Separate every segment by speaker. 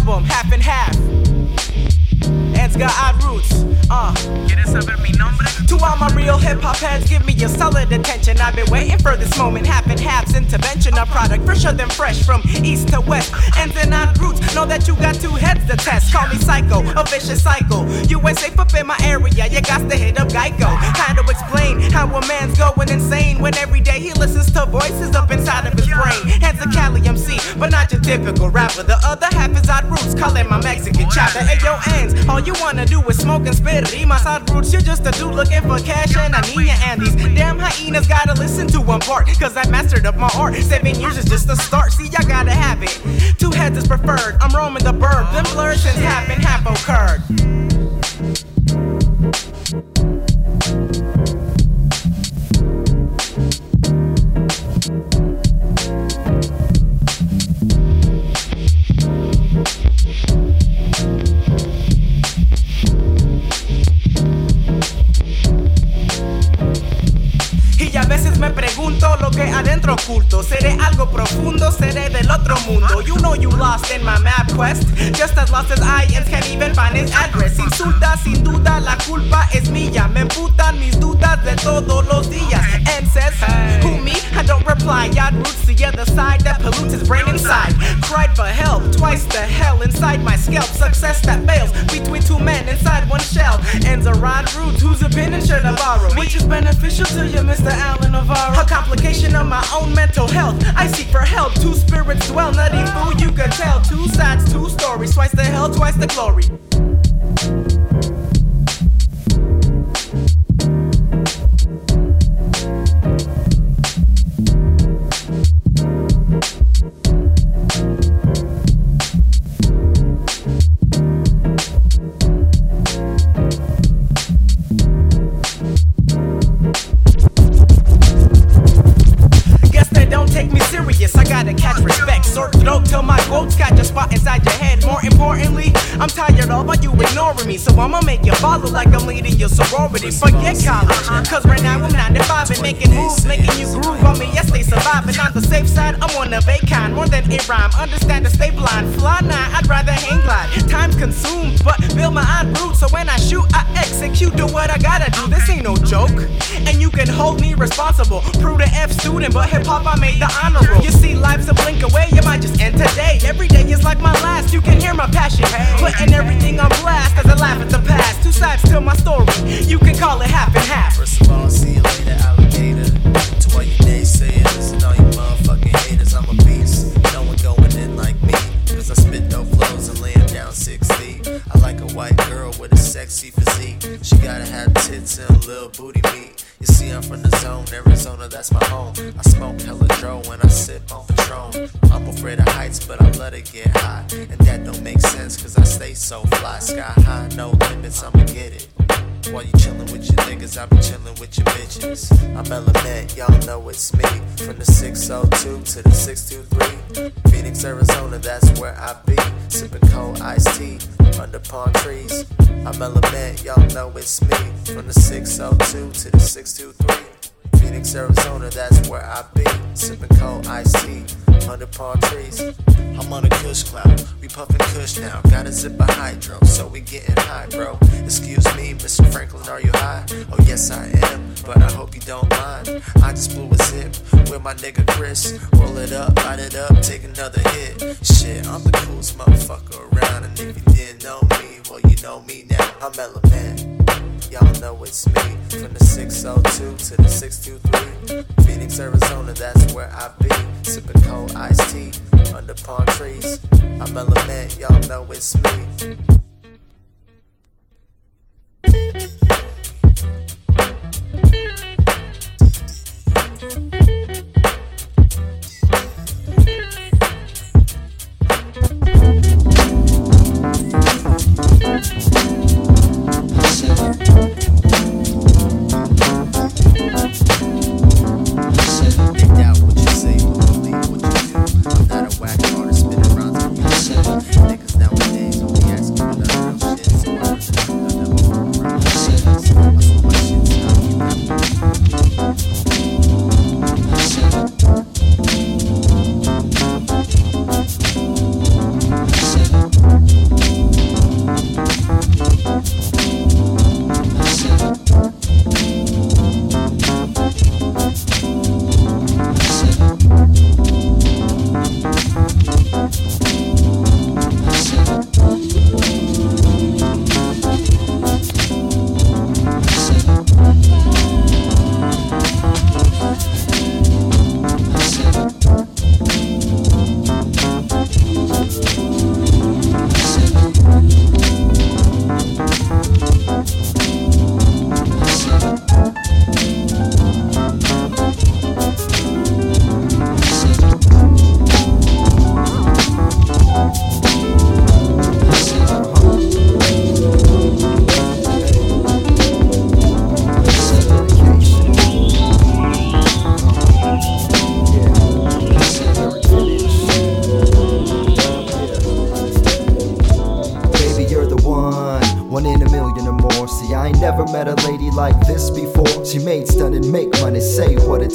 Speaker 1: album, half and half. It's got odd roots.
Speaker 2: ¿Quieres saber mi nombre?
Speaker 1: To all my real hip-hop heads, give me your solid attention. I've been waiting for this moment. Half and half's intervention, a product fresher than fresh from east to west. Ends and odd roots, know that you got two heads to test. Call me psycho, a vicious cycle. You ain't safe up in my area, you got to hit up Geico. Kind of explain how a man's going insane when every day he listens to voices up inside of his brain. Heads a Cali MC, but not your typical rapper. The other half is odd roots, call it my Mexican chopper. Ayo, ends, all you wanna do is smoke and spit rimas. Odd roots, you're just a dude looking for cash and I need ya. And these damn hyenas gotta listen to one part, cause I mastered up my art. 7 years is just a start, see I gotta have it. Two heads is preferred, I'm roaming the bird. Them blurs since half and half occurred. Y a veces me pregunto lo que adentro oculto. Seré algo profundo, seré del otro mundo. You know you lost in my map quest, just as lost as Ians can't even find his address. Insulta, sin duda, la culpa es mía. Me emputan mis dudas de todos los días. And says, who me? I don't reply. Odd roots, the other side that pollutes his brain inside. Cried for help, twice the hell inside my scalp. Success that fails between two men inside one shell. Ends are odd roots, whose opinion should I borrow? Which is beneficial to you, Mr. Alan Navarro? A complication of my own mental health. I seek for help, two spirits dwell. Nutty fool, you can tell. Two sides, two stories. Twice the hell, twice the glory. I gotta catch respect, sort throat till my quotes got your spot inside your head. More importantly, I'm tired of all you ignoring me, so I'ma make you follow like I'm leading your sorority. Forget college, cause right now I'm 9 to 5 and making moves, making you groove on me. Yes, they surviving. On the safe side, I'm on a vacant, more than a rhyme. Understand to stay blind, fly nine, I'd rather hang glide. Time's consumed, but build my odd roots, so when I shoot, I execute. Do what I gotta do, this ain't no joke. And you can hold me responsible. Prudent F student, but hip hop I made the honor roll. You see, life's a blink away, you might just end today. Every day is like my last, you can hear my passion. Putting everything on blast as I laugh at the past. Two sides to my story, you can call it half and half.
Speaker 3: First of all, see you later, alligator. To all you naysayers and all you motherfucking haters, I'm a beast. No one going in like me, cause I spit dope flows and lay it down 6 feet. I like a white girl with a sexy physique. She gotta have tits and a little booty meat. You see, I'm from the zone, Arizona, that's my home. I smoke hella dro when I sip on Patron. I'm afraid of heights, but I let it get high. And that don't make sense, cause I stay so fly. Sky high, no limits, I'ma get it. While you chillin' with your niggas, I be chillin' with your bitches. I'm Element, y'all know it's me. From the 602 to the 623. Phoenix, Arizona, that's where I be. Sippin' cold iced tea under palm trees. I'm Element, y'all know it's me. From the 602 to the 623. Phoenix, Arizona, that's where I be. Sippin' cold iced tea under palm trees. I'm on a kush cloud, we puffin' kush now. Got a zip of hydro, so we gettin' high, bro. Excuse me, Mr. Franklin, are you high? Oh yes I am, but I hope you don't mind. I just blew a zip with my nigga Chris. Roll it up, light it up, take another hit. Shit, I'm the coolest motherfucker around. And if you didn't know me, well you know me now. I'm Element, y'all know it's me. From the 602 to the 623. Phoenix, Arizona, that's where I be. Sippin' cold iced tea under palm trees. I'm Element, y'all know it's me. Niggas nowadays only asking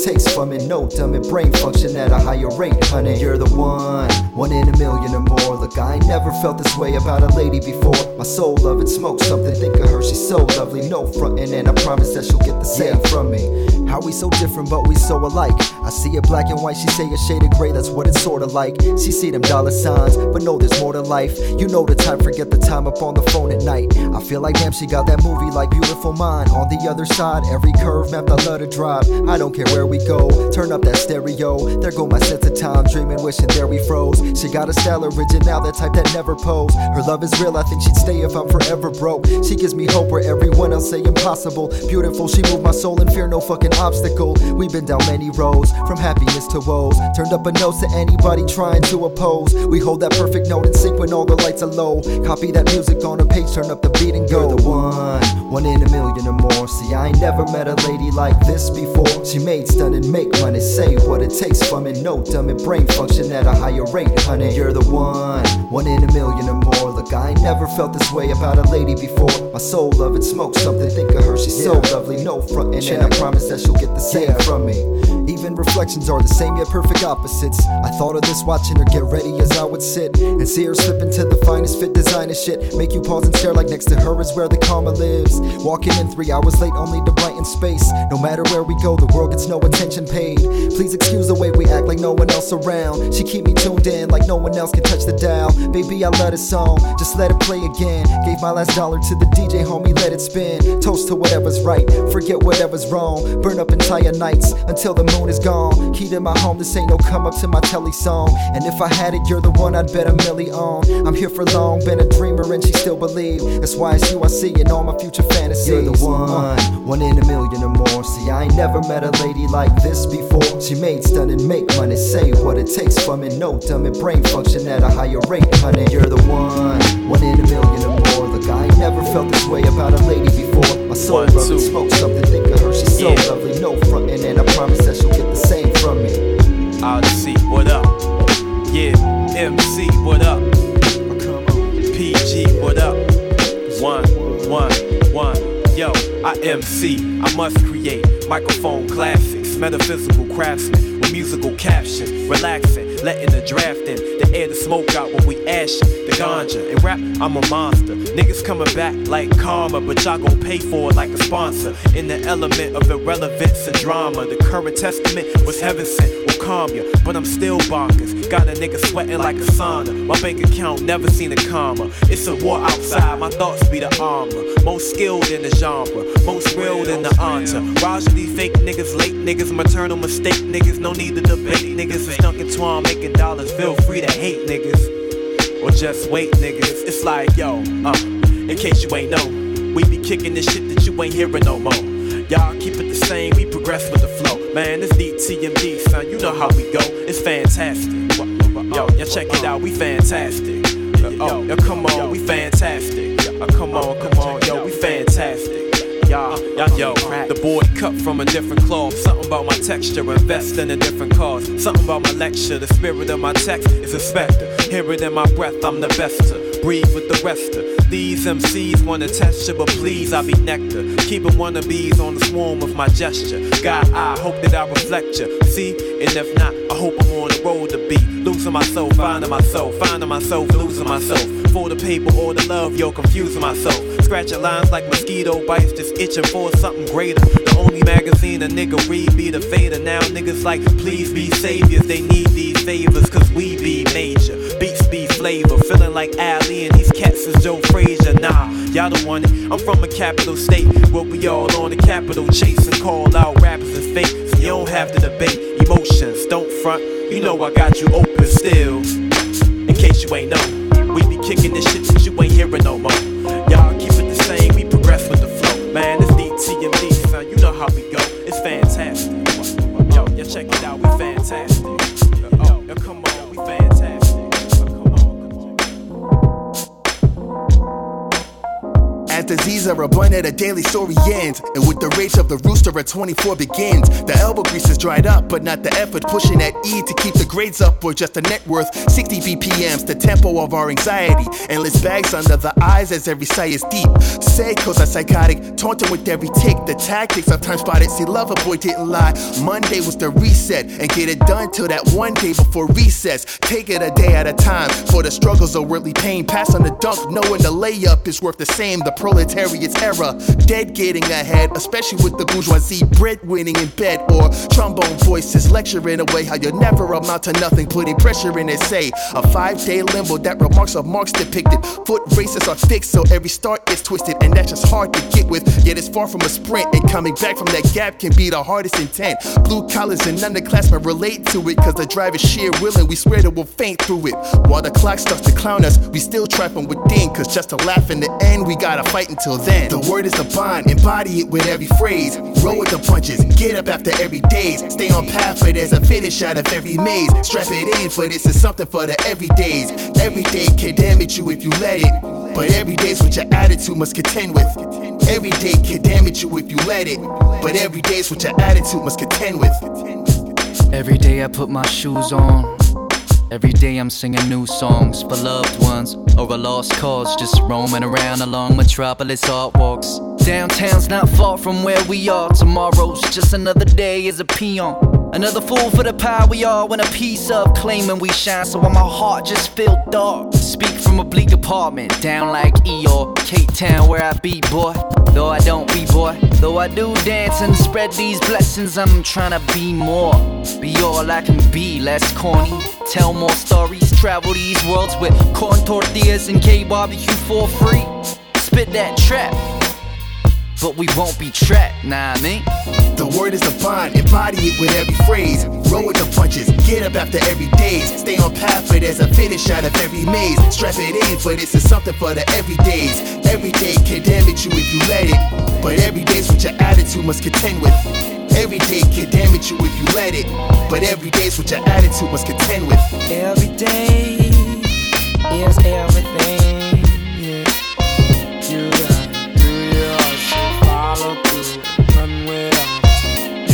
Speaker 4: takes from me. No dumb and brain function at a higher rate, honey. You're the one in a million or more. Look, I ain't never felt this way about a lady before. My soul love it, smoke something, think of her, she's so lovely. No frontin', and I promise that she'll get the same from me. How we so different, but we so alike. I see it black and white, she say a shade of gray, that's what it's sorta like. She see them dollar signs, but no, there's more to life. You know the type, forget the time up on the phone at night. I feel like damn, she got that movie like Beautiful Mind. On the other side, every curve mapped, I love to drive. I don't care where we go, turn up that stereo. There go my sense of time, dreaming, wishing there we froze. She got a style original, that type that never pose. Her love is real, I think she'd stay if I'm forever broke. She gives me hope where everyone else say impossible. Beautiful, she moved my soul and fear no fucking obstacle. We've been down many roads, from happiness to woes. Turned up a nose to anybody trying to oppose. We hold that perfect note in sync when all the lights are low. Copy that music on a page, turn up the beat and go. You're the one in a million or more. See, I ain't never met a lady like this before. She made stunning, make money, say what it takes from it. No dumb and brain function at a higher rate, honey. You're the one in a million or more. Look, I ain't never felt this way about a lady before. My soul love it, smoke something, think of her, she's so lovely. No frontin', and I promise that she'll get the same from me. Even reflections are the same yet perfect opposites. I thought of this watching her get ready as I would sit and see her slip into the finest fit designer shit. Make you pause and stare like next to her is where the karma lives. Walking in 3 hours late only to brighten space. No matter where we go, the world gets no attention paid. Please excuse the way we act like no one else around. She keep me tuned in like no one else can touch the dial. Baby, I love this song, just let it play again. Gave my last dollar to the DJ, homie, let it spin. Toast to whatever's right, forget whatever's wrong. Burn up entire nights until the moon is gone. Key to my home, this ain't no come up to my telly song. And if I had it, you're the one I'd bet a milli on. I'm here for long, been a dreamer and she still believe. That's why it's you I see in all my future fantasies. You're the one in a million or more. See, I ain't never met a lady like this before. She made stunning, make money, say what it takes from it. No dumb and brain function at a higher rate, honey. You're the one in a million or more. Look, I ain't never felt this way about a lady before. My soul love it, smoke something, think of her, she's so lovely. No frontin', and I promise that she'll get the same from me.
Speaker 5: Odyssey, what up? Yeah, MC, what up? PG, what up? One. Yo, I MC, I must create microphone classics, metaphysical craftsmen with musical caption, relaxing, letting the draft in, the air to smoke out when we ashin', the ganja. In rap, I'm a monster. Niggas coming back like karma, but y'all gon' pay for it like a sponsor. In the element of irrelevance and drama, the current testament was heaven sent, will calm ya, but I'm still bonkers. Got a nigga sweating like a sauna. My bank account never seen a comma. It's a war outside, my thoughts be the armor. Most skilled in the genre, most real than the entourage of these fake niggas, late niggas, maternal mistake niggas. No need to debate niggas. It's Duncan Twan making dollars. Feel free to hate niggas, or just wait niggas. It's like, yo, in case you ain't know, we be kicking this shit that you ain't hearing no more. Y'all keep it the same, we progress with the flow. Man, it's DTMD, son, you know how we go. It's fantastic. Yo, check it out, we fantastic. Yo, come on, we fantastic. Come on, yo, we fantastic. Yo, the board cut from a different cloth. Something about my texture, invest in a different cause. Something about my lecture, the spirit of my text is a specter. Hear it in my breath, I'm the best to breathe with the rest of these MCs. Wanna test you, but please, I be nectar. Keeping wannabes on the swarm of my gesture. God, I hope that I reflect you. See, and if not, I hope I'm on the road to be losing myself, finding myself, losing myself. For the paper or the love, yo, confusing myself. Scratching lines like mosquito bites, just itching for something greater. The only magazine a nigga read be the Fader. Now niggas like, please be saviors. They need these favors, cause we be major. Beats be flavor, feeling like Ali and these cats is Joe Frazier. Nah, y'all don't want it. I'm from a capital state where we all on the capital chase and call out rappers and fake. So you don't have to debate emotions, don't front. You know I got you open still. In case you ain't know, we be kicking this shit that you ain't hearing no more. Y'all keep it the same, we progress with the flow. Man, it's DTMD, son, you know how we go. It's fantastic. Yo, check it out, we fantastic. Yo, come on, we fantastic. Come on.
Speaker 6: As disease are abundant, a daily story ends. And with the rage of the rooster, a 24 begins. The elbow grease is dried up, but not the effort. Pushing that E to keep the grades up, or just a net worth 60 BPMs, the tempo of our anxiety. Endless bags under the eyes as every sigh is deep. Seikos are psychotic, taunting with every tick. The tactics of time spotted, see lover boy didn't lie. Monday was the reset, and get it done till that one day before recess. Take it a day at a time, for the struggles are worldly pain. Pass on the dunk, knowing the layup is worth the same. The proletariat's era, dead getting ahead, especially with the bourgeoisie breadwinning in bed. Or trombone voices lecturing away how you'll never amount to nothing, putting pressure in essay. A 5-day limbo that remarks of marks depicted. Foot races are fixed, so every start is twisted, and that's just hard to get with. Yet it's far from a sprint, and coming back from that gap can be the hardest intent. Blue collars and underclassmen relate to it, cause the drive is sheer willing, we swear that we'll faint through it. While the clock starts to clown us, we still try from within, cause just to laugh in the end, we gotta fight until then. The word is a bond, embody it with every phrase. Roll with the punches, get up after every days. Stay on path, but there's a finish out of every maze. Strap it in, for this is something for the everydays. Every day can damage you if you let it, but every day's what your attitude must contend with. Every day can damage you if you let it, but every day's what your attitude must contend with.
Speaker 7: Every day I put my shoes on. Every day I'm singing new songs for loved ones or a lost cause. Just roaming around along Metropolis art walks. Downtown's not far from where we are. Tomorrow's just another day as a peon. Another fool for the power we are when a piece of claiming we shine. So while my heart just feel dark, speak from a bleak apartment down like Eeyore, Cape Town where I be, boy. Though I don't be, boy. Though I do dance and spread these blessings, I'm trying to be more. Be all I can be, less corny. Tell more stories, travel these worlds with corn tortillas and K-barbecue for free. Spit that trap, but we won't be trapped, nah I mean.
Speaker 6: The word is a bond, embody it with every phrase. Roll with the punches, get up after every days. Stay on path, but there's a finish out of every maze. Strap it in, for this is something for the everydays. Every day can damage you if you let it, but every day's what your attitude must contend with. Every day can damage you if you let it, but every day's what your attitude must contend with.
Speaker 1: Every day is everything. Yeah. You gotta do yours, follow through, run with us.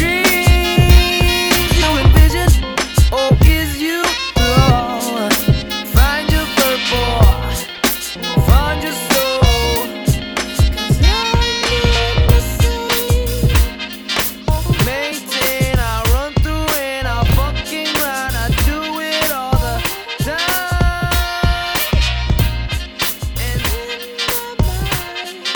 Speaker 1: Dreams you envision, or is you low? Find your purpose, find your soul. 'Cause I need the same. Maintain, I run through and I fucking grind. I do it all the time. And in my mind,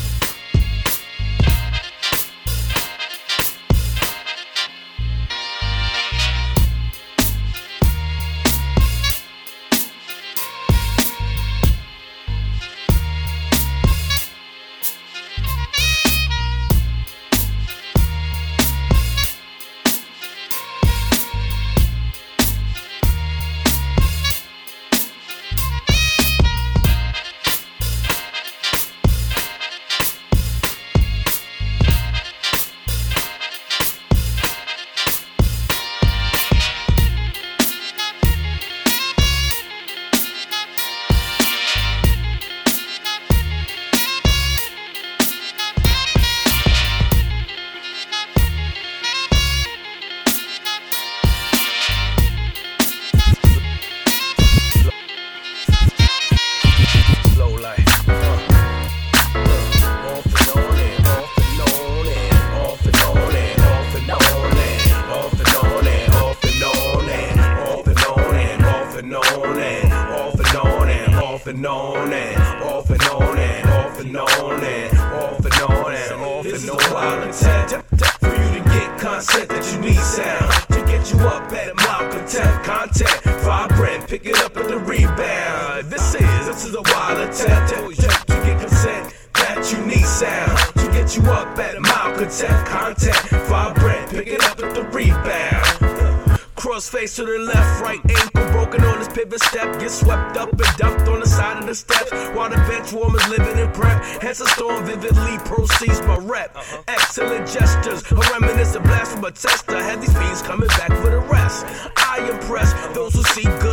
Speaker 5: and on and off and on and off and on and off and on and off and on. This is a wild intent for you to get consent that you need sound to get you up at a malcontent content vibrant, pick it up at the rebound. This is a wild attempt to get consent that you need sound to get you up at a malcontent content vibrant, pick it up at the rebound. Crossface to the left, right ankle broken on his pivot step. Get swept up and dumped on the side of the steps while the bench warmers living in prep. Hence a storm vividly proceeds my rep. Excellent gestures, a reminiscent blast from a tester. Had these fiends coming back for the rest. I impress those who see good sounds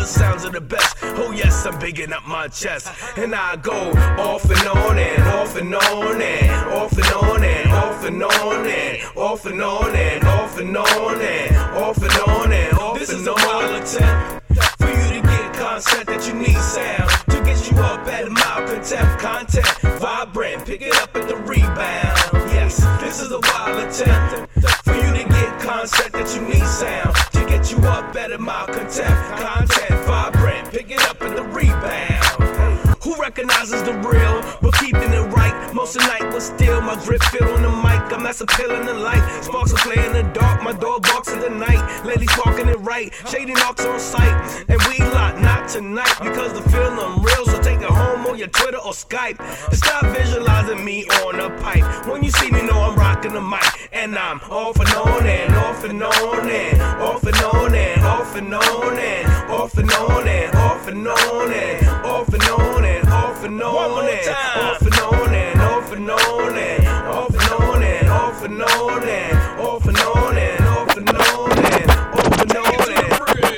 Speaker 8: of the best. Oh yes, I'm bigging up my chest. And I go off and on and off and on and off and on and off and on and off and on and off and on and off and on and off. This is a wild attempt for you to get concept that you need sound to get you up at a mild content, vibrant, pick it up at the rebound. Yes, this is a wild attempt for you to get concept that you need sound to get you up at a mild content, vibrant, pick it up at the rebound. Who recognizes the real, but keeping it right? Most of the night was still, my grip feel on the mic. I'm as a pill in the light. Sparks will play in the dark, my door barks in the night. Ladies walking it right, shady knocks on sight. And we lot not tonight because the feeling real. So take it home on your Twitter or Skype. And stop visualizing me on a pipe. When you see me, know I'm rocking the mic. And I'm off and on and off and on and off and on and off and on and off and on and off and on and off and on and off and on and off and on and off and on and off and on and off and on and off and on and off and on and off and on and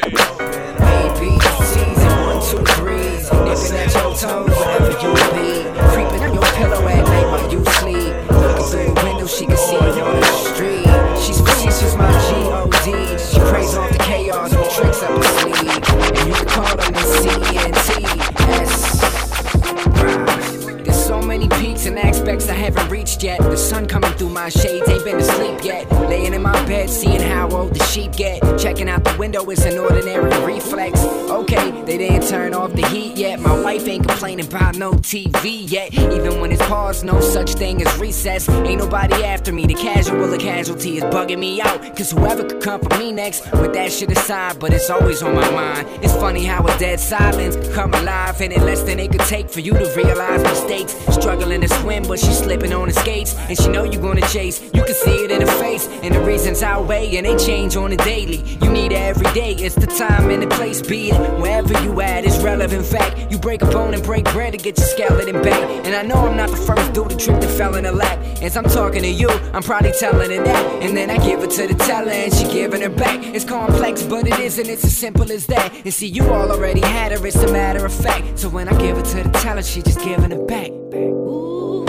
Speaker 9: ABCs and 1, 2, 3s, nipping at your toes wherever you be, creeping on your pillow at night while you sleep. Looking through the window, she can see you on the street. She's facetious, my G.O.D. She prays off the chaos with tricks up her sleeve, and you can call them the C-N-T-S. There's so many peaks and aspects I haven't reached yet. The sun coming through my shades, ain't been asleep yet. Laying in my bed, seeing how old the sheep get. Checking out the window, it's an ordinary reflex. Okay, they didn't turn off the heat yet. My wife ain't complaining about no TV yet. Even when it's paused, no such thing as recess. Ain't nobody after me, the casual or casualty is bugging me out. Cause whoever could come for me next, with that shit aside, but it's always on my mind. It's funny how a dead silence come alive, and in less than it could take for you to realize mistakes. Struggling to swim, but she's slipping on the skates, and she know you gonna chase. You can see it in her face, and the reasons outweigh, and they change on the daily. You need it every day, it's the time and the place. Be it wherever you at, it's relevant fact. You break a bone and break bread to get your skeleton back. And I know I'm not the first dude to trip that fell in her lap. As I'm talking to you, I'm probably telling her that, and then I give it to the teller and she giving her back. It's complex, but it isn't, it's as simple as that. And see, you all already had her, it's a matter of fact. So when I give it to the teller, she just giving it back.
Speaker 10: Ooh.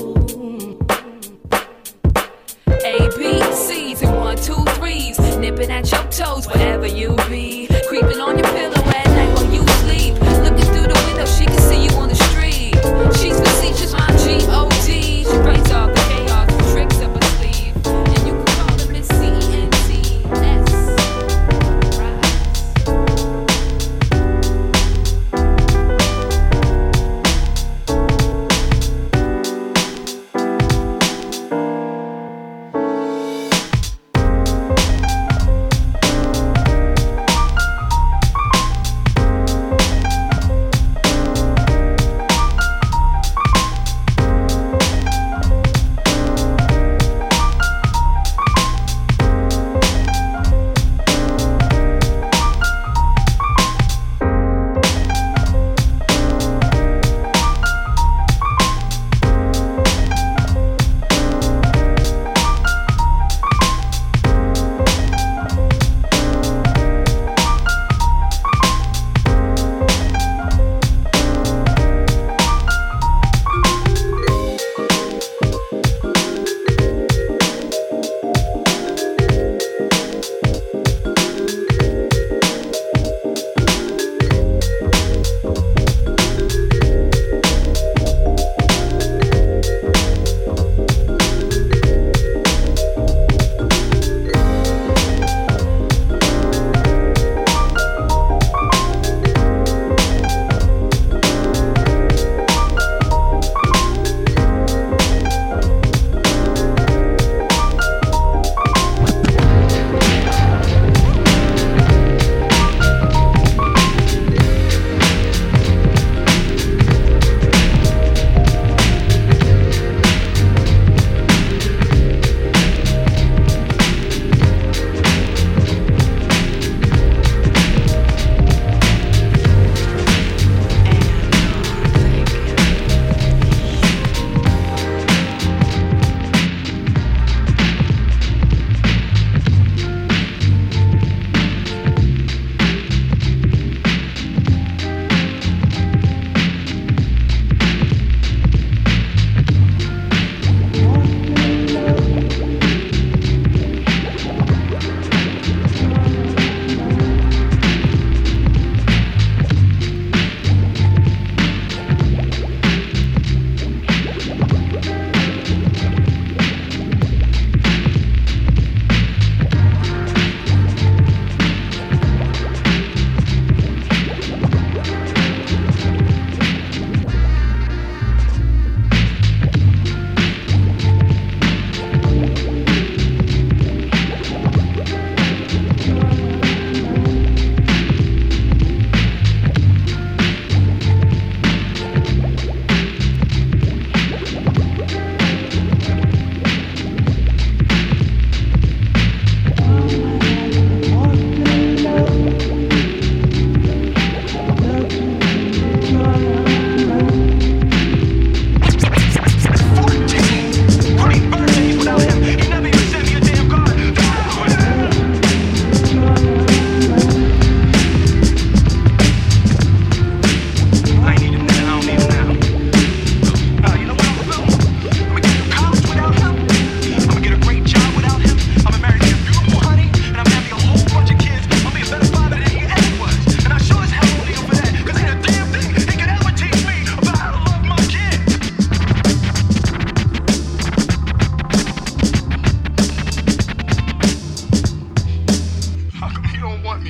Speaker 10: ABCs and 1, 2, 3s, nipping at your toes wherever you be, creeping on your pillow at night while you sleep. Looking through the window, she can see you on the street. She's facetious, my G.O.D. She brings all the chaos, tricks up her sleeve, and you can call her Miss C-N-T-S.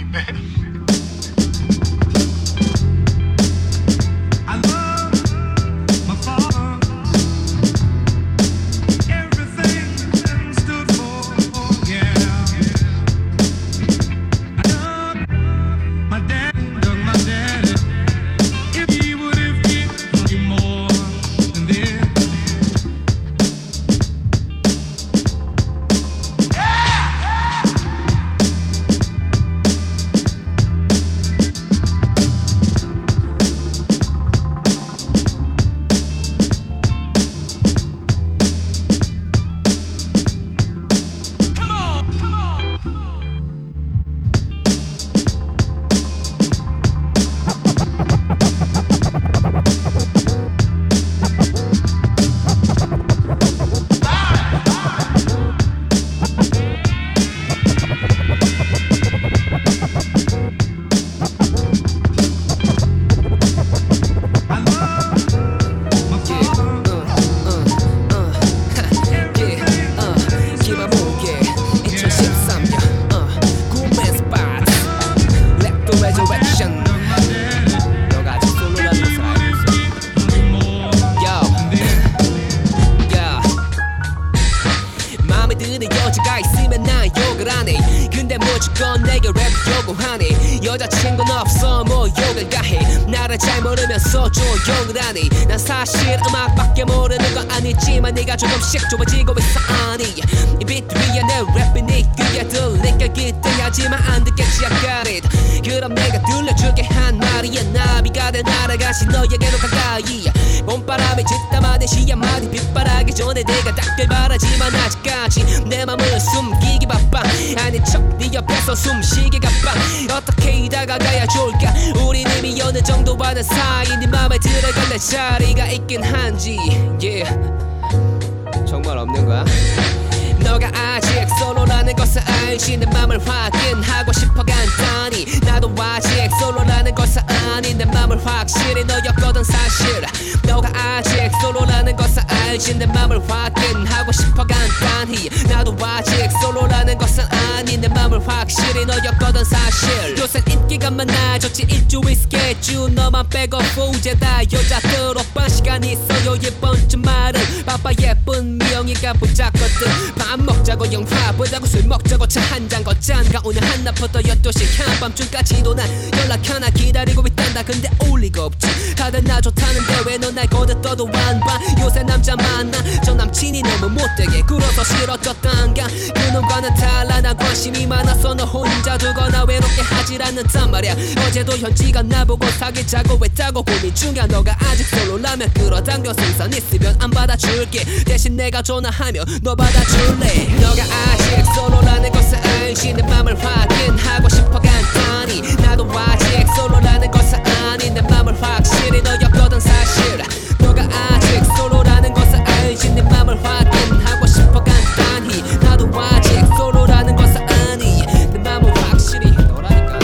Speaker 11: me, man.
Speaker 12: 여자친구는 없어 뭐 욕을 가해 나를 잘 모르면서 조용을 하니 난 사실 음악밖에 모르는 건 아니지만 네가 조금씩 좁아지고 있어 아니 이 비트 위에 내 랩이 네 귀에 들리게 기대하지만 안 듣겠지 I got it 그럼 내가 들려줄게 한 말이야 나비가 돼 날아가시 너에게로 가까이 봄바람이 짙다마디 시야마디 빗바라기 전에 내가 닿길 바라지만 아직까지 내 맘을 숨기기 바빠 아닌 척 네 옆에서 숨쉬기 가빠 어떻게 다가가야 좋을까 우린 이미 어느 정도 아는 사이 네 맘에 들어갈 자리가 있긴 한지 yeah. 정말 없는 거야? 너가 아직 솔로라는 것을 알지 내 맘을 확인하고 싶어 간단히 나도 아직 솔로라는 것을 아니 내 맘을 확실히 너였거든 사실 너가 아직 솔로라는 것을 알지 내 맘을 확인하고 싶어 간단히 나도 아직 솔로라는 것을 아니 내 맘을 확실히 너였거든 사실 요새 인기가 많아졌지 일주일 스케줄 너만 빼고 후제 다 여자들 오빠 시간 있어요 이번 주말은 바빠 예쁜 미영이가 붙잡거든 밥 먹자고 영화 보자고 술 먹자고 차 한잔 걷잔가 오늘 한낮부터 12시 한밤중까지도 난 연락 하나 기다리고 있단다 근데 올 리가 없지 다들 나 좋다는데 왜 넌 날 거듭떠도 안 봐 요새 남자 만나 전 남친이 너무 못되게 굴어서 싫어졌단가 그놈과는 달라 나 관심이 많아서 너 혼자 두거나 외롭게 하질 않는단 말이야 어제도 현지가 나보고 사귀자고 했다고 고민 중이야 너가 아직 솔로라면 끌어당겨 생선 있으면 안 받아줄게 대신 내가 전화하면 너 받아줄래 너가 아직 솔로라는 것을 알지 내 맘을 확인하고 싶어 간단히 나도 아직 솔로라는 것을 아니 내 맘을 확실히 너였거든 사실 너가 아직 솔로라는 것을 알지 내 맘을 확인하고 싶어 간단히 나도 아직 솔로라는 것을 아니 내 맘을 확실히 너라니까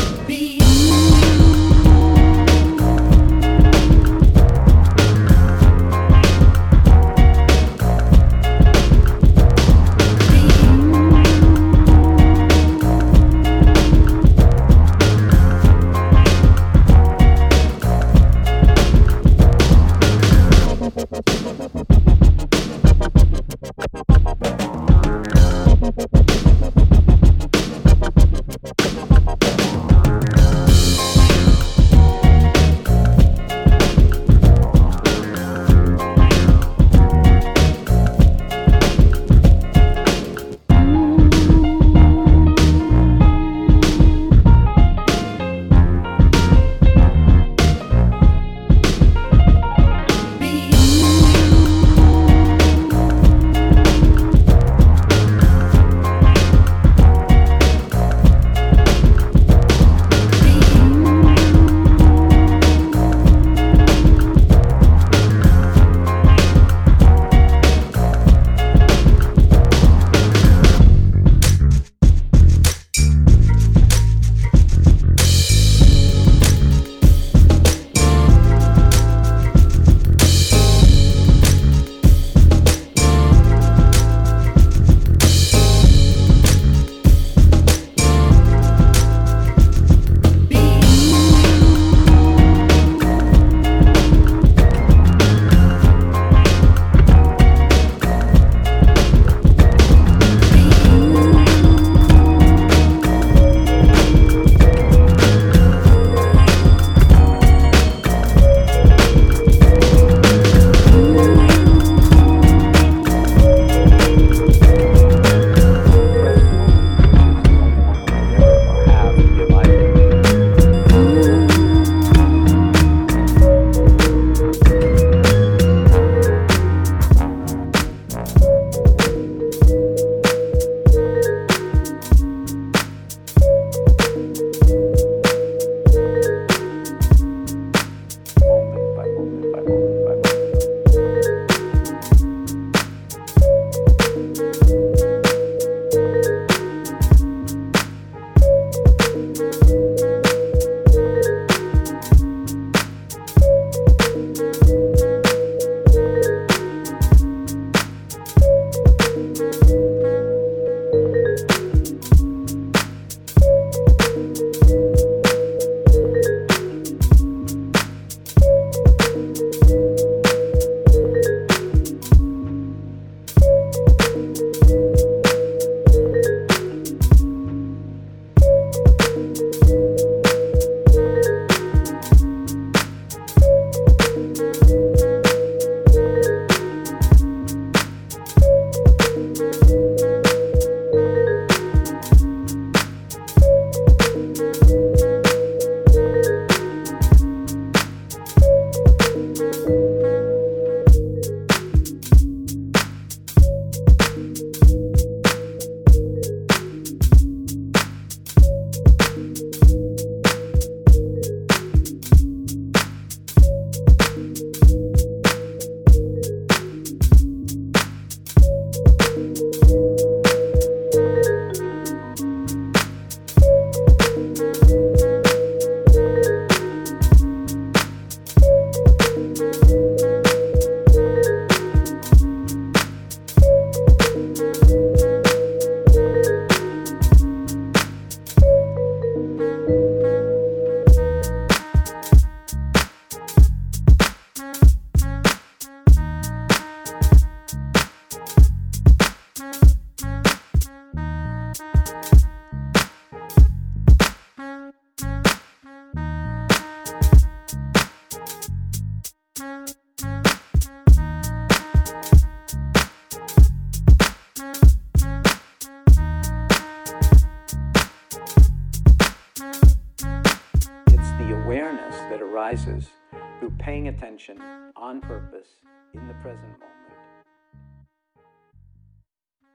Speaker 11: It's the awareness that arises through paying attention on purpose in the present moment.